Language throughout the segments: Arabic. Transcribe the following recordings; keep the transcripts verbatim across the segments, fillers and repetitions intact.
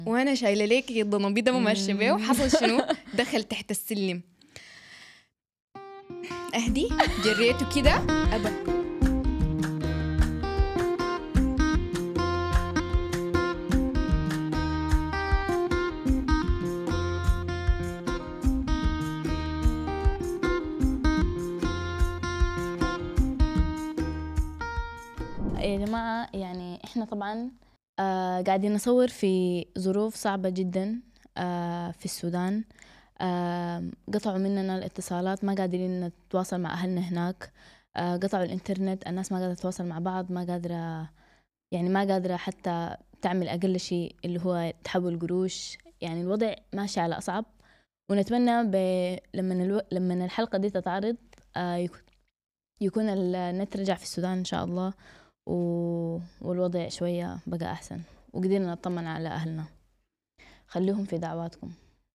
وانا شايله ليك الضنبيده ممشيه بيه، وحصل شنو؟ دخل تحت السلم، اهدي جريته كده ابا. يا جماعة يعني إحنا طبعاً آه قاعدين نصور في ظروف صعبة جداً آه في السودان. آه قطعوا مننا الاتصالات، ما قادرين نتواصل مع أهلنا هناك. آه قطعوا الإنترنت، الناس ما قادرة تتواصل مع بعض، ما قادرة يعني ما قادرة حتى تعمل أقل شيء اللي هو تحول قروش. يعني الوضع ماشي على أصعب، ونتمنى ب... لما الو... لما الحلقة دي تتعرض آه يكون يكون النت رجع في السودان إن شاء الله، و... والوضع شوية بقى أحسن، وقدرنا نطمن على أهلنا. خليهم في دعواتكم.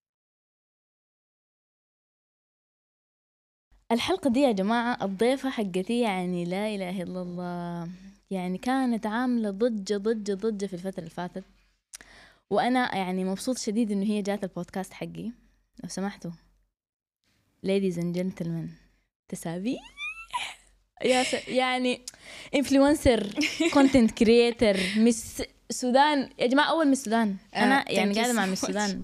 الحلقة دي يا جماعة الضيفة حقتي يعني لا إله إلا الله، يعني كانت عاملة ضجة ضجة ضجة في الفترة اللي فاتت، وأنا يعني مبسوط شديد إنه هي جات البودكاست حقي. لو سمحتوا ladies and gentlemen، تسابيح يا س... يعني انفلونسر، كونتنت كرييتر، مس السودان يا جماعة، أول من السودان. أنا uh, يعني قاعدة مع من السودان.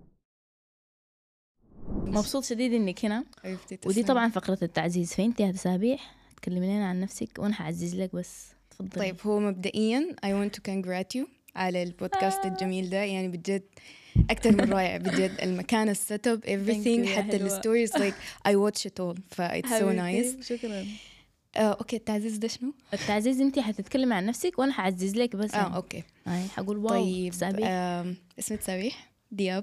مبسوط شديد إنك هنا، ودي طبعا فقرة التعزيز. فأنت يا تسابيح تكلمي لنا عن نفسك وأنا حعزز لك بس. تفضلي. طيب هو مبدئيا I want to congratulate you على البودكاست آه. الجميل ده، يعني بجد أكتر من رائع بجد. المكان، السيت اب، everything، حتى الستوريز like I watch it all، ف it's so nice. شكرا. آه، أوكي التعزيز ده شنو؟ التعزيز أنت حتتكلمي عن نفسك وأنا حعزز لك بس. آه يعني. أوكي. هاي حقول واو. طيب اسمي تسابيح دياب،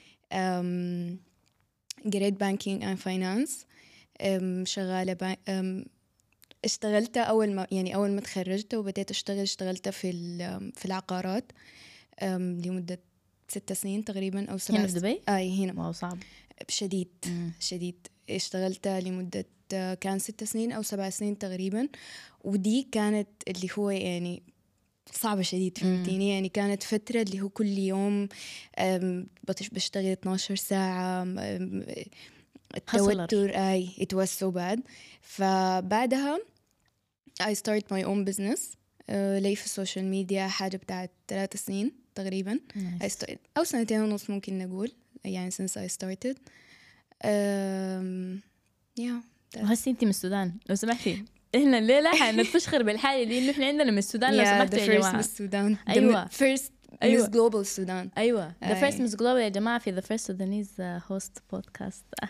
قريت بانكينج اند فاينانس، شغالة با... اشتغلت أول ما يعني أول ما تخرجت وبديت أشتغل اشتغلت في في العقارات لمدة ست سنين تقريبا أو سبع. هنا في دبي؟ آه هنا. واو صعب شديد. مم. شديد. اشتغلت لمدة كان ست سنين أو سبع سنين تقريبا، ودي كانت اللي هو يعني صعبة شديد، فهمتيني؟ يعني كانت فترة اللي هو كل يوم بشتغل اثناشر ساعة، التوتر اي it was so bad. فبعدها I start my own business uh, لي في السوشيال ميديا حاجة بتاعت ثلاث سنين تقريبا. nice. I started أو سنتين ونص ممكن نقول، يعني since I started. um, yeah وهسي انتي من السودان لو سمحتي. احنا الليلة حنتفشخر بالحاجة دي انه احنا عندنا من السودان. لو سمحتوا يا جماعة. من السودان. أيوة. first أيوة. Miss Global السودان. أيوة. The first Miss Global يا جماعة في the first Sudanese host podcast.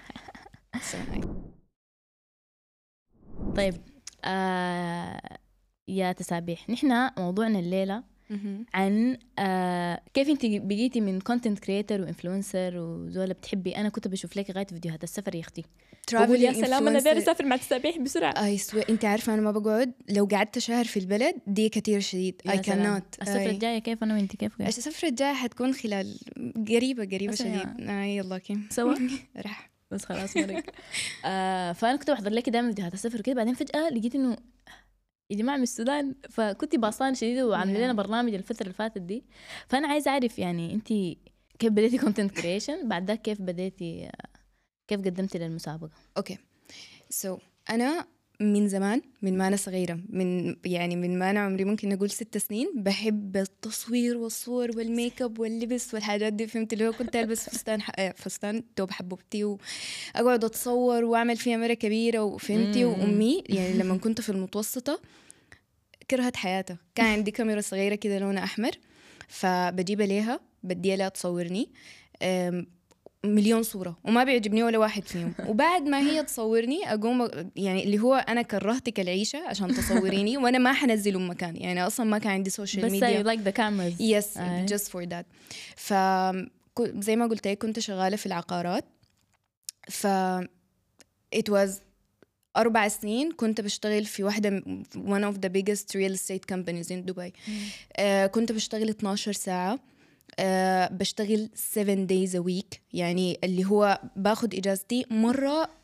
طيب آه يا تسابيح، نحن موضوعنا الليلة عن آه كيف انت بقيتي من كونتنت كريتر وانفلونسر وزوله بتحبي. انا كنت بشوف لك غايه فيديوهات السفر يا اختي، بقول يا سلام انا داير اسافر مع تسابيح بسرعه. اي سو انت عارفه انا ما بقعد لو قعدت شهر في البلد دي كتير شديد. اي كانوت. السفره الجايه كيف انا وانت كيف؟ السفره الجايه حتكون خلال قريبه قريبه شديد. اي يلا كيم سوا راح بس خلاص مرق. آه فانا كنت بحضر لك دائما فيديوهات السفر كده، بعدين فجاه لقيت انه يا جماعة من السودان، فكنت باصان شديدة وعاملين لنا برنامج الفترة اللي فاتت دي. فأنا عايزة أعرف يعني أنت كيف بديتي كونتنت كريشن، بعد ذاك كيف بديتي كيف قدمتي للمسابقة؟ أوكي سو so, أنا من زمان من ما أنا صغيرة، من يعني من ما أنا عمري ممكن نقول ست سنين بحب التصوير والصور والميك اب واللبس والحاجات دي، فهمت؟ اللي هو كنت ألبس فستان فستان توب حبوبتي وأقعد أتصور وأعمل فيها مرة كبيرة، وفهمتي؟ وأمي يعني لما كنت في المتوسطة كرهت حياتها، كان عندي كاميرا صغيرة كده لونها أحمر، فبجيب ليها بدي لها تصورني مليون صورة وما بيعجبني ولا واحد فيهم. وبعد ما هي تصورني أقوم يعني اللي هو أنا كرهتك العيشة عشان تصوريني وأنا ما حنزله مكان، يعني أصلا ما كان عندي سوشيال ميديا. بس I like the cameras. Yes uh. just for that. فزي ما قلت لك كنت شغالة في العقارات، ف it was أربع سنين كنت بشتغل في واحدة one of the biggest real estate companies in دبي. uh, كنت بشتغل اثناشر ساعة، uh, بشتغل seven days a week، يعني اللي هو باخد إجازتي مرة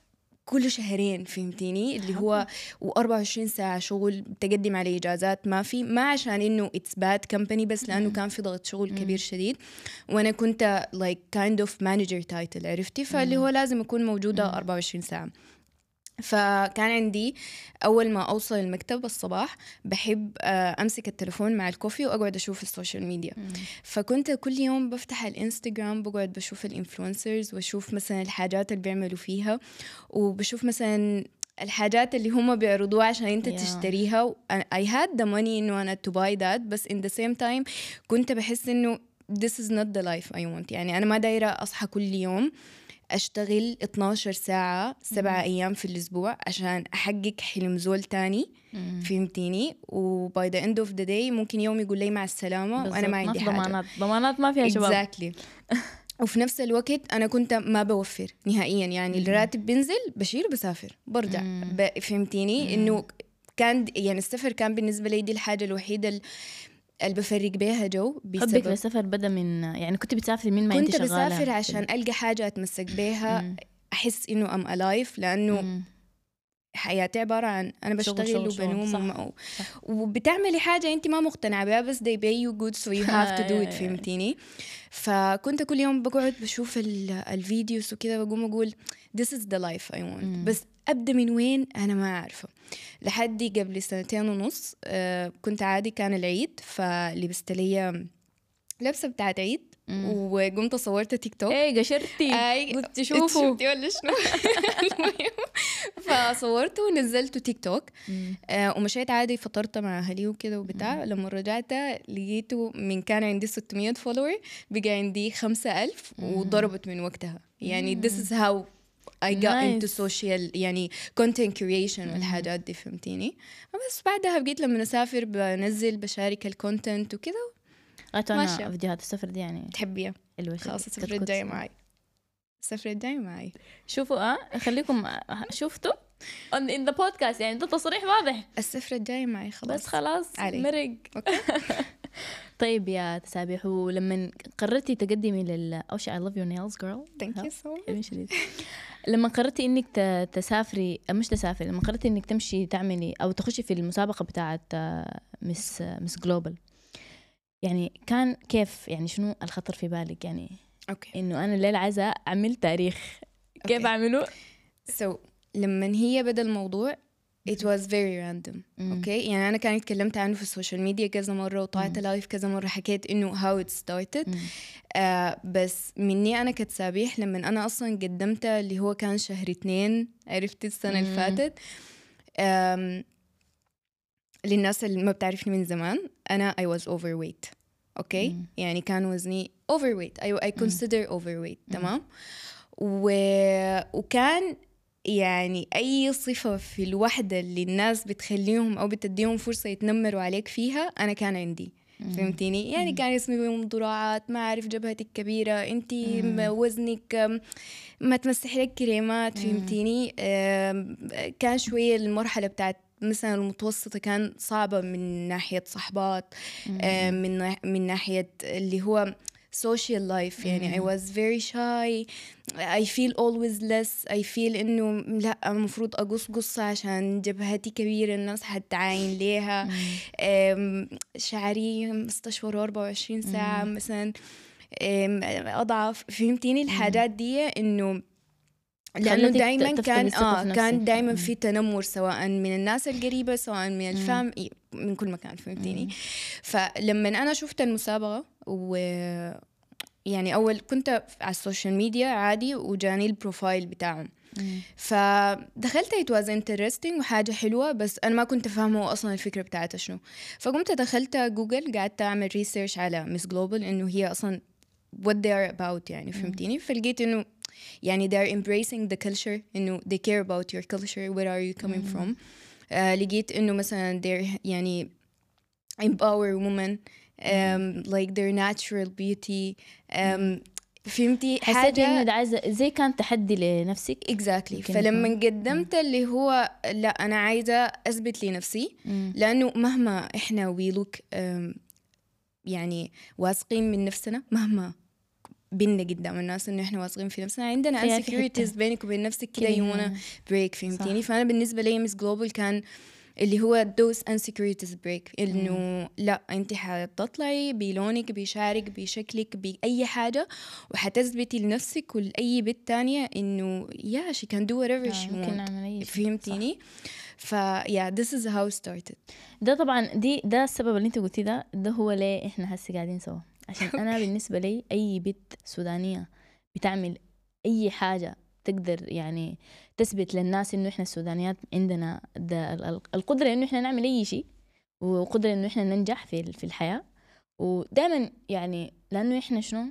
كل شهرين فهمتيني اللي هو وأربعة وعشرين ساعة شغل، تقدم على إجازات ما في، ما عشان إنه it's bad company بس لأنه كان في ضغط شغل كبير شديد، وأنا كنت like kind of manager title عرفتي، فاللي هو لازم أكون موجودة أربعة وعشرين ساعة. فكان عندي أول ما أوصل المكتب الصباح بحب أمسك التلفون مع الكوفي وأقعد أشوف السوشيال ميديا. مم. فكنت كل يوم بفتح الإنستغرام بقعد بشوف الإنفلونسرز وأشوف مثلا الحاجات اللي بيعملوا فيها، وبشوف مثلا الحاجات اللي هم بيعرضوها عشان أنت yeah. تشتريها. I had the money إنه أنا to buy that، بس in the same time كنت بحس إنه this is not the life I want. يعني أنا ما دايرة أصحى كل يوم أشتغل اتناشر ساعة سبعة أيام في الأسبوع عشان أحقق حلم زول تاني. مم. فهمتيني؟ و by the end of the day ممكن يوم يقول لي مع السلامة وأنا ما عندي حاجة. ضمانات ضمانات ما فيها شباب. exactly. وفي نفس الوقت أنا كنت ما بوفر نهائيا، يعني مم. الراتب بنزل بشيل بسافر برجع. ب... فهمتيني؟ إنه كان يعني السفر كان بالنسبة لي دي الحاجة الوحيدة اللي بفرق بيها جو. حبك للسفر بدأ من يعني كنت بتسافر من ما كنت انت شغالة؟ كنت بسافر عشان ألقى حاجة أتمسك بيها، أحس إنه أم ألايف، لأنه مم. حياتي عبارة عن أنا بشتغل وبنوم وم... وبتعملي حاجة أنت ما مقتنعة بها بس they pay you good so you have to do it. فهمتيني؟ فكنت كل يوم بقعد بشوف الفيديوز وكذا بقوم أقول this is the life I want. مم. بس أبدأ من وين أنا ما أعرفه. لحد قبل سنتين ونص آه كنت عادي كان العيد، فلبست لي لبسة بتاعت عيد وقمت صورت تيك توك. ايه قشرتي اي قلت شوفوا شفتي ولا شنو؟ فصورته ونزلته تيك توك. آه ومشيت عادي فطرت مع اهلي وكده وبتاع. لما رجعت لقيته من كان عندي ستمية فولور بقى عندي خمسة ألف وضربت من وقتها. يعني this is how I got nice. into social يعني content creation والحاجات دي. فهمتيني؟ بس بعدها بقيت لما نسافر بنزل بشارك الكونتنت وكده. أنا فيديوهات السفر دي يعني تحبيها؟ خلاص السفر الجاي معي، السفر الجاي معي. شوفوا اه خليكم شفتوا in the podcast يعني ده تصريح واضح. السفر الجاي معي خلاص. بس خلاص مرق. طيب يا تسابيح، ولما قررتي تقدمي لل أول شيء I love your nails girl. thank you so much. لما قررتي إنك تسافري مش تسافري لما قررتي إنك تمشي تعملي أو تخشي في المسابقة بتاعة مس مس جلوبال، يعني كان كيف يعني شنو الخطر في بالك يعني أوكي. إنه أنا الليلة عايزة أعمل تاريخ كيف أوكي. أعمله؟ so لما هي بدأ الموضوع it was very random. أوكي يعني أنا كانت اتكلمت عنه في السوشيال ميديا كذا مرة وطلعت لايف كذا مرة حكيت إنه how it started. آه بس مني أنا كتسابيح لما أنا أصلا قدمت اللي هو كان شهر اتنين عرفت السنة اللي فاتت. للناس اللي ما بتعرفني من زمان أنا I was overweight. أوكي مم. يعني كان وزني overweight. I, I consider مم. overweight. تمام. و... وكان يعني أي صفة في الوحدة اللي الناس بتخليهم أو بتديهم فرصة يتنمروا عليك فيها أنا كان عندي. مم. فهمتيني؟ يعني مم. كان اسمي مضروعات، ما أعرف جبهتك كبيرة، أنتي وزنك ما تمسح لك كريمات. فهمتيني؟ كان شوية المرحلة بتاعت مثلا المتوسطة كان صعبة من ناحية صحبات، من من ناحية اللي هو social life. يعني I was very shy. I feel always less. I feel إنه لا المفروض أقص قصة عشان جبهتي كبيرة الناس حتعاين ليها. شعري مستشور أربعة وعشرين ساعة مثلا أضعف. فهمتيني الحاجات دي إنه لأنه دايما كان آه كان دايما في تنمر سواء من الناس القريبة سواء من الفام من كل مكان. فهمتيني؟ فلما أنا شفت المسابقة و يعني أول كنت على السوشيال ميديا عادي وجاني البروفايل بتاعهم فدخلت it was interesting وحاجة حلوة بس أنا ما كنت فاهمه أصلا الفكرة بتاعتها شنو. فقمت دخلت جوجل قعدت أعمل ريسيرش على مس جلوبال إنه هي أصلا what they are about يعني. فهمتيني؟ فلقيت إنه يعني they are embracing the culture إنه they care about your culture where are you coming from. uh, لقيت إنه مثلا they're يعني empower women um, like their natural beauty. um, فهمتي حاجة حسيت إنه ده عايزة زي كان تحدي لنفسك exactly. فلما قدمت اللي هو لا أنا عايزة أثبت لنفسي مم. لأنه مهما إحنا we look um, يعني واثقين من نفسنا مهما بينا قدام الناس إنه إحنا واثقين في نفسنا. عندنا فيها في insecurities حتة. بينك وبين نفسك كده كده you wanna هي. break فهمتيني. صح. فأنا بالنسبة لي مس جلوبال كان اللي هو those insecurities break إنه لا أنت حتطلعي بلونك بشعرك بشكلك بأي حاجة وحتثبتي لنفسك ولأي بنت تانية إنه yeah she can do whatever آه، she ممكن want نعمل أي شيء. فهمتيني. ف yeah this is how it started. ده طبعا دي ده السبب اللي انت قلتي ده ده هو ليه احنا هسه قاعدين سوا. عشان انا بالنسبه لي اي بنت سودانيه بتعمل اي حاجه تقدر يعني تثبت للناس انه احنا السودانيات عندنا ده ال- ال- القدره انه احنا نعمل اي شيء وقدره انه احنا ننجح في في الحياه. ودائما يعني لانه احنا شنو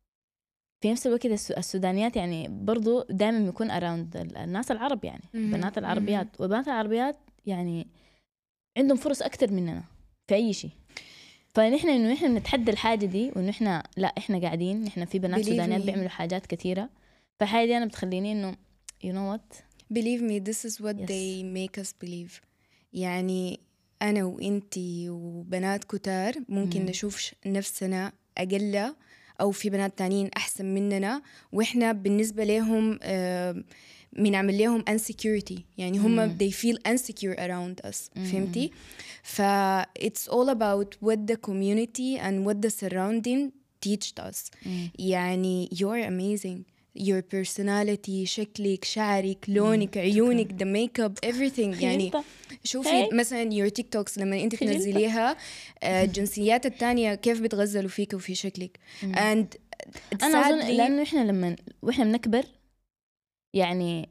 في نفس الوقت الس- السودانيات يعني برضو دائما بيكون اراوند الناس العرب يعني مهم. بنات العربيات والبنات العربيات يعني عندهم فرص أكتر مننا في أي شيء. فنحن إنه إحنا نتحدى الحاجة دي وإنه إحنا لا إحنا قاعدين إحنا في بنات Believe سودانيات me. بيعملوا حاجات كثيرة. فالحاجة دي أنا بتخليني إنه you know what believe me this is what Yes. they make us believe. يعني أنا وإنتي وبنات كتار ممكن مم. نشوف ش- نفسنا أقل أو في بنات تانيين أحسن مننا وإحنا بالنسبة لهم آه، بنعمل لهم insecurity يعني هم مم. they feel insecure around us مم. فهمتي. ف it's all about what the community and what the surrounding teached us. مم. يعني you're amazing your personality شكلك شعرك لونك عيونك the makeup everything يعني خجلت. شوفي Hey. مثلا your تيك توكس لما انت خجلت. تنزليها آه، الجنسيات التانية كيف بتغزلوا فيك وفي شكلك مم. and أنا أظن sadly لأنه إحنا لما وإحنا بنكبر يعني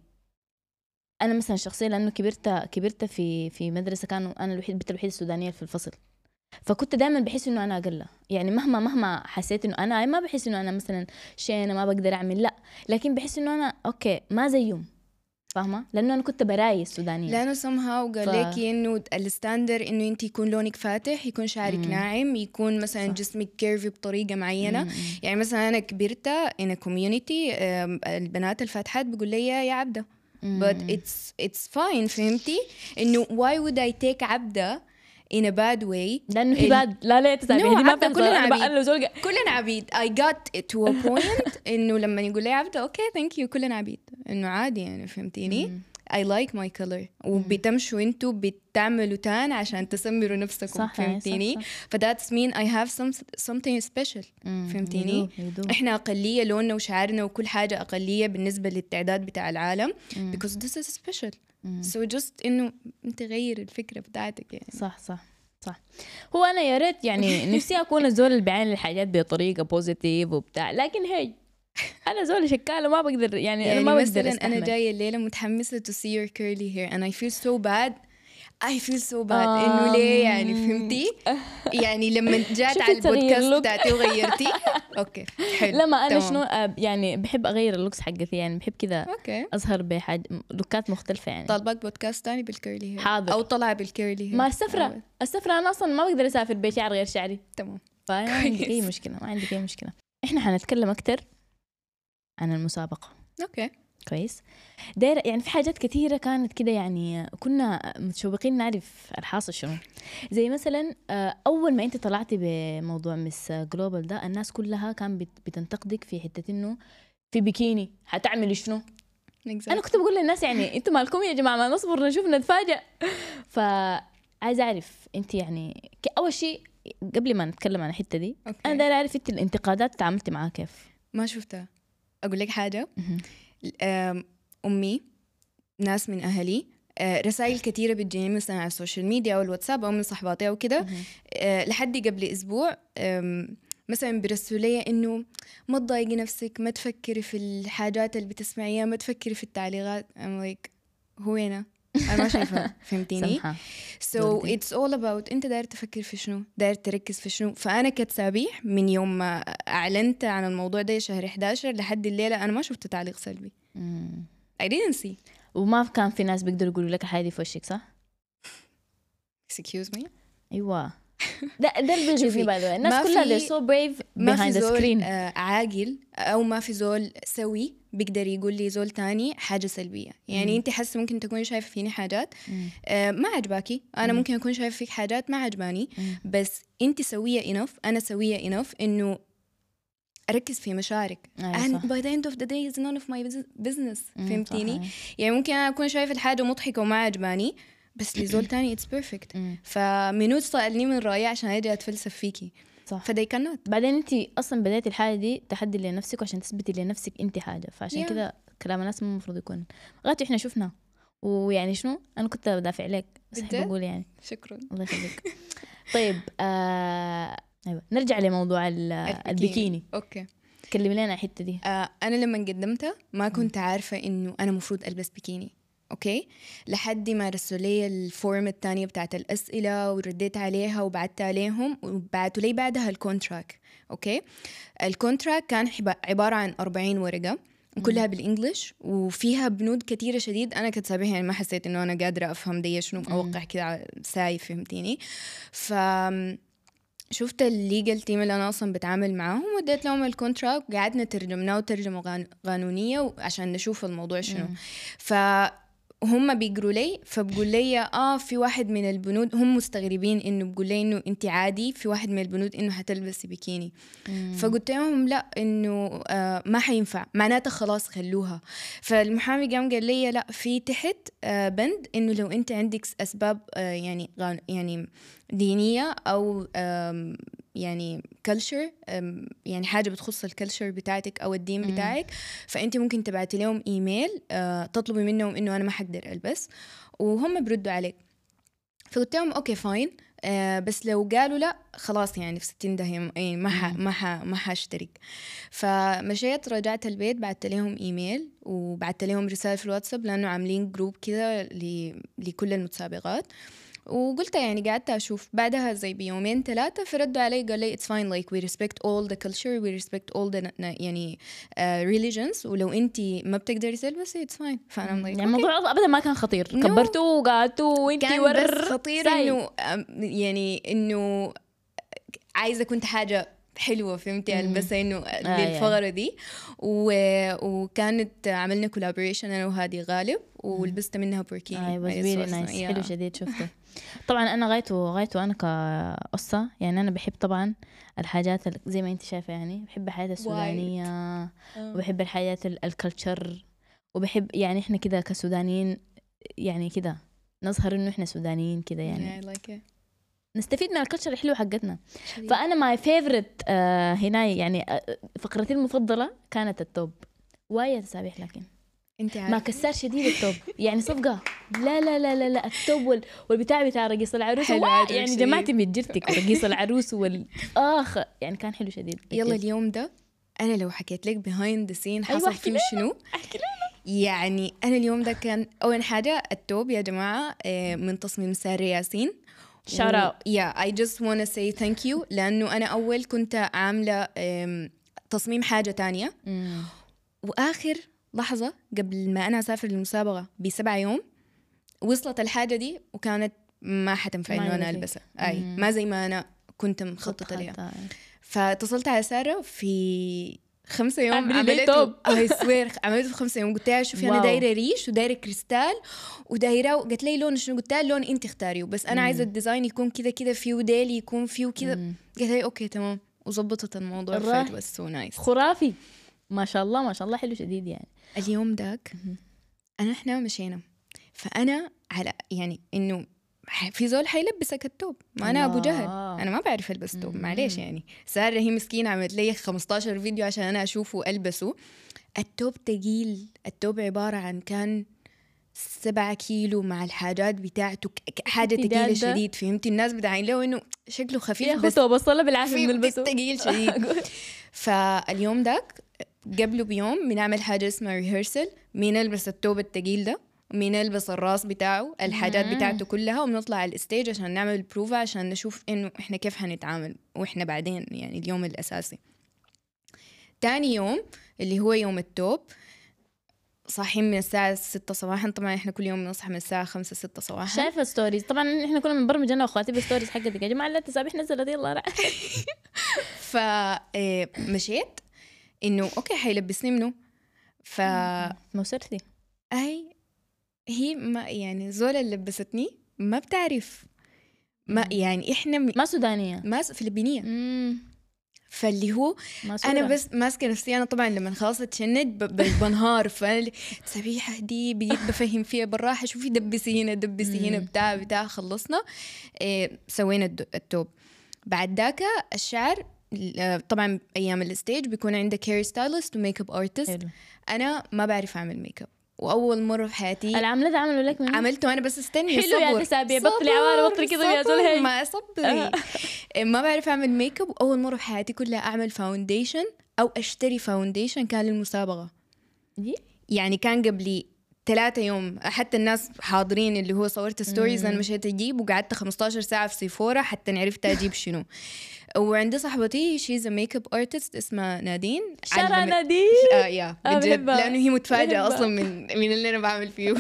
أنا مثلا شخصيا لأنه كبرت كبرت في في مدرسة كانوا أنا الوحيد البنت الوحيدة السودانية في الفصل. فكنت دائما بحس انه انا اقل يعني مهما مهما حسيت انه انا ما بحس انه انا مثلا شيء انا ما بقدر اعمل لا لكن بحس انه انا اوكي ما زيهم فاهمه لانه انا كنت براي السودانيه. لانه somehow قال ف- لك انه الستاندر انه انت يكون لونك فاتح يكون شعرك مم. ناعم يكون مثلا صح. جسمك كيرفي بطريقه معينه. مم. يعني مثلا انا كبرت in a community آم، البنات الفاتحات بيقول لي يا عبده but مم. it's it's fine فهمتي انه why would I take عبده in a bad way لانه هي ال- بعد لا لا تسامحني No، دي ما عبدة بتحصل كلنا انا عبيد. بقى زول كلنا عبيد. I got it to a point انه لما يقول لي عبده اوكي ثانك يو كلنا عبيد انه عادي يعني فهمتيني. I like my color وبتمشوا انتوا بتعملوا تان عشان تسمروا نفسكم صح فهمتيني. ف that's mean I have some something special فهمتيني. احنا اقليه لوننا وشعرنا وكل حاجه اقليه بالنسبه للتعداد بتاع العالم because this is special. so just انه انت غير الفكره بتاعتك يعني. صح صح صح. هو انا يا ريت يعني نفسي اكون الزول اللي بيعمل الحاجات بطريقه بوزيتيف وبتاع لكن هي انا زول شكاله ما بقدر يعني, يعني انا ما بقدر مثلا استحمل. انا جايه الليله متحمسه to see your curly hair and I feel so bad I feel so bad آم. انه ليه يعني فهمتي. يعني لما جات شوفي على تغير البودكاست لوك. بتاعتي وغيرتي اوكي حلو لما انا تمام. شنو آه، يعني بحب اغير اللوكس حقتي يعني بحب كذا اوكي اظهر بحاجه لوكات مختلفه يعني. طالبك بودكاست تاني بالكيرلي هير حاضر. او طلع بالكيرلي هير ما السفره السفره انا اصلا ما بقدر اسافر بشعر غير شعري تمام. فما عندي اي مشكله ما عندي اي مشكله. احنا حنتكلم اكتر عن المسابقه. اوكي كويس. دايرة يعني في حاجات كثيرة كانت كده يعني كنا متشوقين نعرف الحاصل شنو. زي مثلا آه، أول ما أنت طلعتي بموضوع مس جلوبال ده الناس كلها كان بت- بتنتقدك في حتة إنه في بيكيني حتعملي شنو. exactly. أنا كنت بقول للناس يعني أنتوا مالكم يا جماعة ما نصبر نشوف نتفاجأ. فعايزة أعرف أنت يعني ك- أول شيء قبل ما نتكلم عن الحتة دي أوكي. أنا دايرة أعرف أنت الانتقادات تعاملتي معاها كيف. ما شفتها. اقول لك حاجه مهم. أم، امي ناس من اهلي أه، رسائل كثيره بتجيني مثلا على السوشيال ميديا او الواتساب او من صحباتي او كده مهم. أه، لحد قبل اسبوع أم، مثلا بيرسلوا لي انه ما تضايقي نفسك ما تفكري في الحاجات اللي بتسمعيها ما تفكري في التعليقات. I'm like هو هنا انا ما شايفه فهمتيني. سمحة. so دولتي. it's all about انت داير تفكر في شنو داير تركز في شنو. فانا كتسابيح من يوم ما اعلنت عن الموضوع ده شهر إحدى عشر لحد الليله انا ما شفت تعليق سلبي. مم. I didn't see. وما كان في ناس بيقدروا يقولوا لك الحاجة دي في وشك صح؟ excuse me. ايوه ده ده اللي بيغيظني باي ذا الناس ما كلها في- they're so brave ما في behind the زول screen. آه عاقل او ما في زول سوي بيقدر يقول لي زول تاني حاجه سلبيه. يعني مم. انت حاسه ممكن تكوني شايفه فيني حاجات مم. آه ما عجباكي انا مم. ممكن اكون شايفه فيك حاجات ما عجباني مم. بس انت سويه enough انا سويه enough انه اركز في مشاعرك. أيوة and صح. by the end of the day is none of my business. مم، فهمتيني؟ صح. يعني ممكن انا اكون شايفه الحاجه مضحكه وما عجباني، بس لزول تاني it's perfect. مم. فمنو تسألني من رأيي عشان اجي اتفلسف فيكي؟ صح. فدي كانت بعدين انت اصلا بدايتي الحاجه دي تحدي لنفسك وعشان تثبتي لنفسك انت حاجه، فعشان Yeah. كده كلام الناس مو المفروض يكون غاتي احنا شفنا. ويعني شنو انا كنت بدافع عليك بس بجد؟ احب اقول يعني شكرا. الله يخليك. طيب آه... ايوه نرجع لموضوع ال- البيكيني. اوكي. كلمي لنا الحته دي. آه انا لما قدمتها ما كنت عارفه انه انا مفروض البس بيكيني، اوكي، لحد ما رسلوا لي الفورم الثانيه بتاعت الاسئله ورديت عليها وبعت عليهم وبعتوا لي بعدها الكونتراكت. اوكي، الكونتراكت كان حب- عباره عن أربعين ورقه كلها بالانجلش وفيها بنود كتيره شديد. انا كنت سابقها يعني ما حسيت انه انا قادره افهم دي شنو اوقع كده ساي، فهمتيني؟ ف شفت الليجل تيم اللي انا اصلا بتعامل معاهم وديت لهم الكونتراكت وقعدنا ترجمناه ترجمه غان- قانونيه عشان نشوف الموضوع شنو. فهم بيقروا لي فبقول لي اه في واحد من البنود هم مستغربين انه بقول لي انه انت عادي في واحد من البنود انه هتلبسي بيكيني. مم. فقلت لهم لا انه آه ما حينفع، معناته خلاص خلوها. فالمحامي قام قال لي لا في تحت آه بند انه لو انت عندك اسباب آه يعني غان- يعني دينية أو أم يعني كلتشر، يعني حاجة بتخص الكلتشر بتاعتك أو الدين بتاعك، فأنت ممكن تبعتي لهم إيميل أه تطلبي منهم إنه أنا ما حقدر ألبس وهم بردوا عليك. فقلت لهم أوكي فاين، أه بس لو قالوا لا خلاص يعني في ستين دهم يعني ما ح ما ح ما حاشترك. فمشيت رجعت البيت بعت لهم إيميل وبعت لهم رسالة في الواتساب لأنه عاملين جروب كده لكل المتسابقات، وقلت يعني قعدت أشوف بعدها زي بيومين ثلاثة فردوا علي قال لي it's fine like we respect all the culture we respect all the يعني uh, religions ولو أنتي ما بتقدري تلبسي it's fine. فأنا like يعني الموضوع أبدا ما كان خطير. No. كبرتوا وقعدتوا وانتي كان ور بس خطير ساي. إنه يعني إنه عايزة كنت حاجة حلوة فهمتي ألبسها إنه آه للفقرة دي و... وكانت عملنا كولابوريشن أنا وهادي غالب ولبست منها بوركيني. اي واز ريلي نايس. حلو شديد شفته. طبعا انا غايته غايته انا كقصة يعني انا بحب طبعا الحاجات زي ما انت شايفه يعني بحب الحياة السودانية وبحب الحياة الكلتشر وبحب يعني احنا كده كسودانيين يعني كده نظهر انه احنا سودانيين كده يعني yeah, like نستفيد من الكلتشر الحلو حقتنا. فانا ماي فيفورت آه هنا يعني آه فقرتي المفضله كانت التوب وايا تسابيح لكن انت ما كسر شديد التوب يعني صفقه لا لا لا لا, لا التوب وال... والبتاع بتاع رقيص العروس يعني جماعتي بتجرتك ورقيص العروس والاخ يعني كان حلو شديد. يلا اليوم ده انا لو حكيت لك behind the scene حصل أيوة فيه شنو احكي لنا. يعني انا اليوم ده كان اول حاجه التوب يا جماعه من تصميم سارة ياسين. shout out. yeah I just wanna say thank you لأنه أنا أول كنت عاملة تصميم حاجة تانية مم. وآخر لحظة قبل ما أنا أسافر للمسابقة بسبع يوم وصلت الحاجة دي وكانت ما حتنفع إنه أنا ألبسها أي مم. ما زي ما أنا كنت مخططة لها. فاتصلت على سارة في خمسة يوم عملته اي سوير عملته في خمسة يوم. قلت لها شوفي انا دايره ريش ودايره كريستال ودايره قالت لي لون شنو قلت لها لون انت اختاريه بس انا عايزه الديزاين يكون كذا كذا فيه ديلي يكون فيه كذا. قالت لي اوكي تمام وظبطت الموضوع فات بس سو نايس خرافي ما شاء الله ما شاء الله حلو شديد يعني. اليوم داك انا احنا مشينا فانا على يعني انه في زول حيلبسك التوب ما انا ابو جهل انا ما بعرف البس توب معليش يعني. سارة هي مسكينه عملت لي خمستاشر فيديو عشان انا اشوفه والبسه. التوب تقيل التوب عباره عن كان سبعة كيلو مع الحاجات بتاعته حاجه تقيله شديد فهمتي. الناس بتعين له انه شكله خفيف بس بوصله بالعافيه نلبسه تقيل شديد. فاليوم داك قبله بيوم بنعمل حاجه اسمها ريهرسل مين نلبس التوب التقيل ده مين نلبس الراس بتاعه الحاجات بتاعته كلها وبنطلع على الستيج عشان نعمل البروفا عشان نشوف انه احنا كيف حنتعامل واحنا بعدين يعني اليوم الاساسي. تاني يوم اللي هو يوم التوب صاحين من الساعة ستة صباحا. طبعا احنا كل يوم نصحى من الساعة خمسة ستة صباحا. شايفة ستوريز طبعا احنا كنا بنبرمج انا واخواتي بالستوريز حقتك يا جماعة لا تسابيح نزلت يلا راح. فمشيت انه اوكي حيلبسني منه ف موسرتي اي هي ما يعني زول اللي لبستني ما بتعرف ما يعني احنا م... ما سودانية ما فلبينية. مم. فاللي هو انا بس ماسكه نفسي. انا طبعا لما خلاص اتشنج بنهار. فالتسابيح دي بديت بفهم فيها بالراحه، شوفي دبسي هنا دبسي هنا بتاع بتاع خلصنا. إيه سوينا التوب. بعد ذاك الشعر طبعا ايام الستيج بيكون عندك هير ستايلست وميك اب ارتست. انا ما بعرف اعمل ميك اب، واول مره في حياتي العمله ده عملوا لك منه؟ عملته انا بس استني حلو يا تسابيع بطلي عوالة بطلي كده يا زول. ما صبري ما بعرف اعمل ميك اب. واول مره في حياتي كلها اعمل فاونديشن او اشتري فاونديشن كان للمسابقه دي. يعني كان قبلي ثلاثة يوم حتى الناس حاضرين اللي هو صورت ستوريز انا مشيت اجيب وقعدت خمستاشر ساعه في سيفورا حتى عرفت اجيب شنو. وعندي صاحبتي شيز ميك اب ارتست اسمها نادين. شارع نادين. اه يا بجد لانه هي متفاجئه اصلا من من اللي انا بعمل فيه.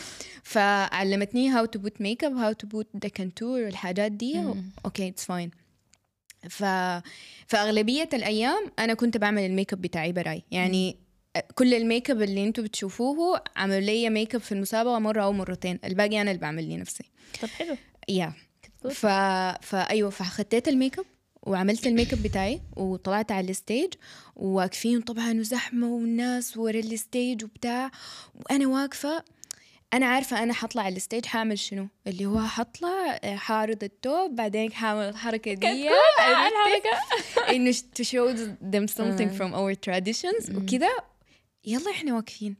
فعلمتني هاو تو بوت ميك اب، هاو تو بوت ذا كونتور والحاجات دي. اوكي اتس فاين. ف فاغلبيه الايام انا كنت بعمل الميك اب بتاعي براي. يعني كل الميك اب اللي انتم بتشوفوه عملوا لي ميك اب في المسابقه مره او مرتين، الباقي انا اللي بعمل لي نفسي. طب حلو. يا ف فايوه فخدت الميك اب وعملت الميك اب بتاعي وطلعت على الستيج وواقفين طبعا وزحمه والناس ورا الستيج وبتاع، وانا واقفه انا عارفه انا حطلع على الستيج حاعمل شنو، اللي هو حطلع حارض التوب بعدين حاعمل الحركه دي الحركه انه to show them something from our traditions وكذا. يلا احنا واقفين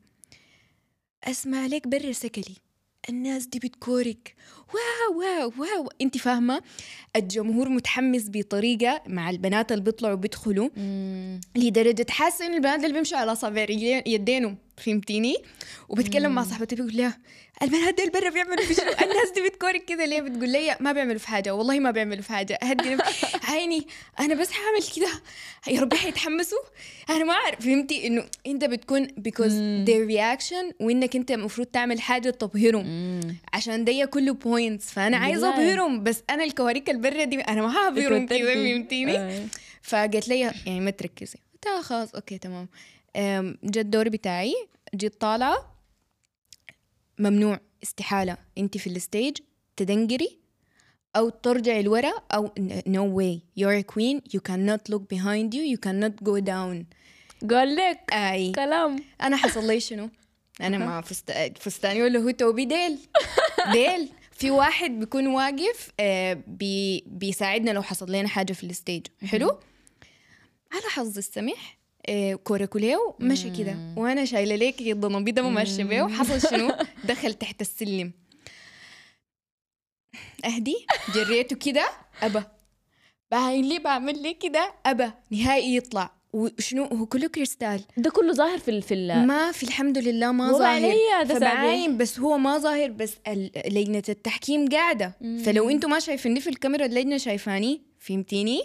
اسمع لك برا سكلي الناس دي بتكورك واو واو واو. انت فاهمه الجمهور متحمس بطريقه مع البنات اللي بيطلعوا بيدخلوا لدرجه حاسه ان البنات اللي بيمشوا على اصابع يدينهم فهمتيني. وبتكلم مع صاحبتي بقول لها البنات دي برا بيعملوا في شنو؟ الناس دي بتكورك كده ليه؟ بتقول لي ما بيعملوا في حاجه، والله ما بيعملوا في حاجه. هدي عيني انا بس هعمل كده يا رب حيتحمسوا انا ما اعرف. فهمتي انه انت بتكون because their reaction وانك انت المفروض تعمل حاجه تبهرهم عشان ده كله بوينتس. فانا عايزه ابهرهم بس انا الكواريك البرة دي انا ما هبهرهم كده فهمتيني. فقالت لي يعني ما تركزي. قلت خلاص اوكي تمام. جاء الدور بتاعي جيت طالعه ممنوع استحاله انت في الستيج تدنجري او ترجعي لورا او no way you're a queen you cannot look behind you you cannot go down. قال لك اي كلام. انا حصل لي شنو؟ انا ما فست... فستاني ولا هو توبي ديل ديل في واحد بيكون واقف آه بي... بيساعدنا لو حصل لنا حاجه في الستيج. حلو. على حظ السمح آه كوراكوليو مشي كده وانا شايله ليك الضنبيده ما ماشيه بيه. وحصل شنو؟ دخل تحت السلم اهدي جريته كده ابا باين لي بعمل لي كده ابا نهائي يطلع. وشنو هو كله كريستال ده كله ظاهر في في ما في الحمد لله ما ظاهر فبعاين بس هو ما ظاهر بس لجنة التحكيم قاعدة. فلو انتوا ما شايفيني في الكاميرا اللجنة شايفاني فهمتيني.